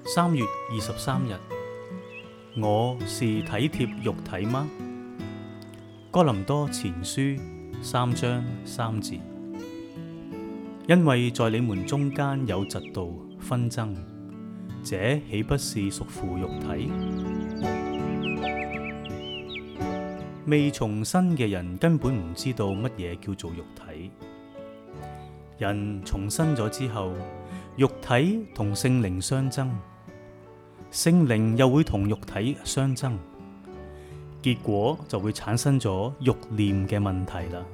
3月23日，我是體貼肉體嗎？哥林多前書3章3節。因為在你們中間有嫉妒紛爭，這豈不是屬乎肉體？未重生嘅人根本唔知道乜嘢叫做肉體。人重生咗之後，肉體同聖靈相爭，聖靈又會同肉體相爭，結果就會產生咗慾念嘅問題啦。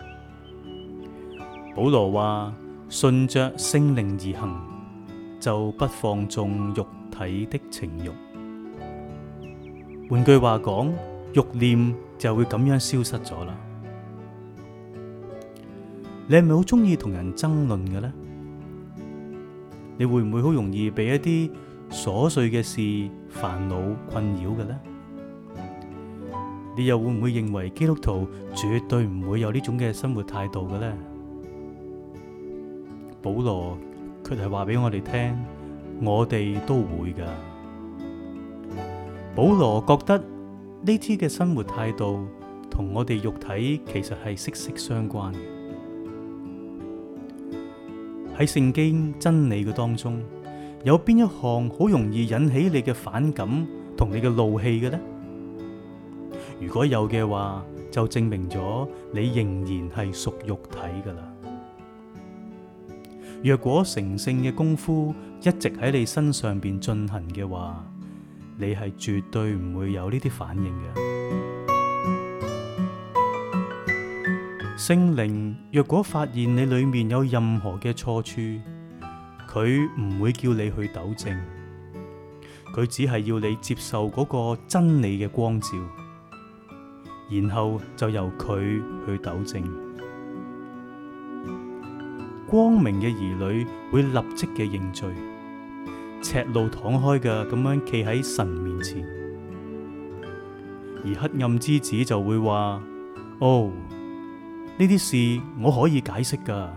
保羅話：順着聖靈而行，就不放縱肉體的情慾。換句話講，慾念就會咁樣消失咗啦。你係咪好中意同人爭論嘅呢？你會唔會好容易被一啲瑣碎嘅事煩惱困擾嘅呢？你又會唔會認為基督徒絕對唔會有呢種嘅生活態度嘅呢？保羅卻係話俾我哋聽，我哋都會㗎。保羅覺得呢啲嘅生活態度同我哋肉體其實係息息相關嘅。喺聖經真理嘅當中，有邊一項好容易引起你嘅反感同你嘅怒氣嘅呢？如果有嘅話，就證明咗你仍然係屬肉體㗎喇。若果成聖嘅功夫一直喺你身上邊進行嘅話，你係絕對唔會有呢啲反應嘅。聖靈若果發現你裏面有任何嘅錯處，佢唔會叫你去糾正，佢只係要你接受嗰個真理嘅光照，然後就由佢去糾正。光明嘅兒女會立即嘅認罪，赤露敞開嘅咁樣企喺神面前，而黑暗之子就會話：哦，呢啲事我可以解釋㗎。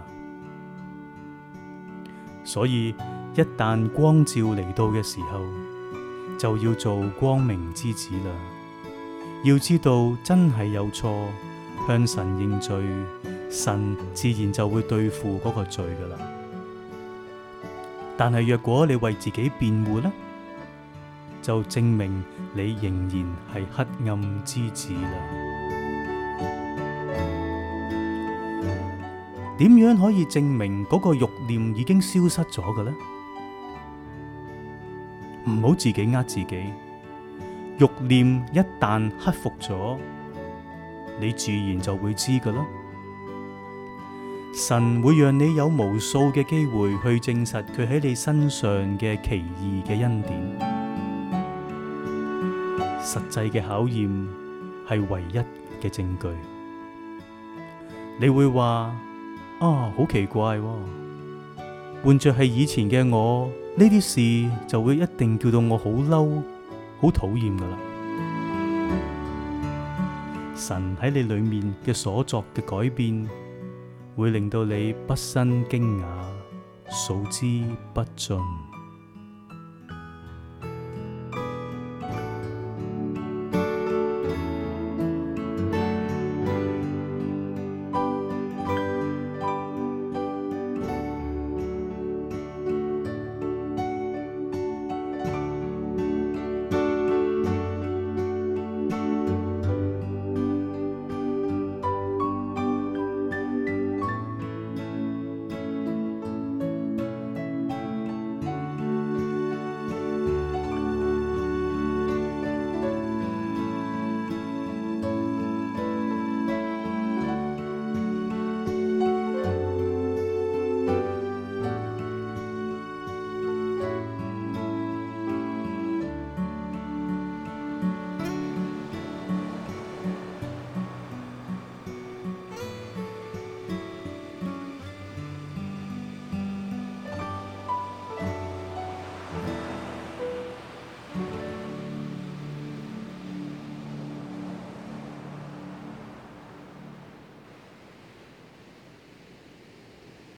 所以一旦光照嚟到嘅時候，就要做光明之子啦。要知道真係有錯，向神認罪，神自然就會對付嗰個罪㗎啦。但係若果你為自己辯護呢，就證明你仍然係黑暗之子啦。點樣可以證明嗰個慾念已經消失咗嘅呢？唔好自己呃自己。慾念一旦克服咗，你自然就會知㗎啦。神會讓你有無數嘅機會去證實佢喺你身上嘅奇異嘅恩典。實際嘅考驗係唯一嘅證據。你會話：好奇怪喎，換着係以前嘅我，呢啲事就會一定叫到我好嬲、好討厭噶啦。神喺你裏面嘅所作嘅改變，會令到你畢生驚訝，數之不盡。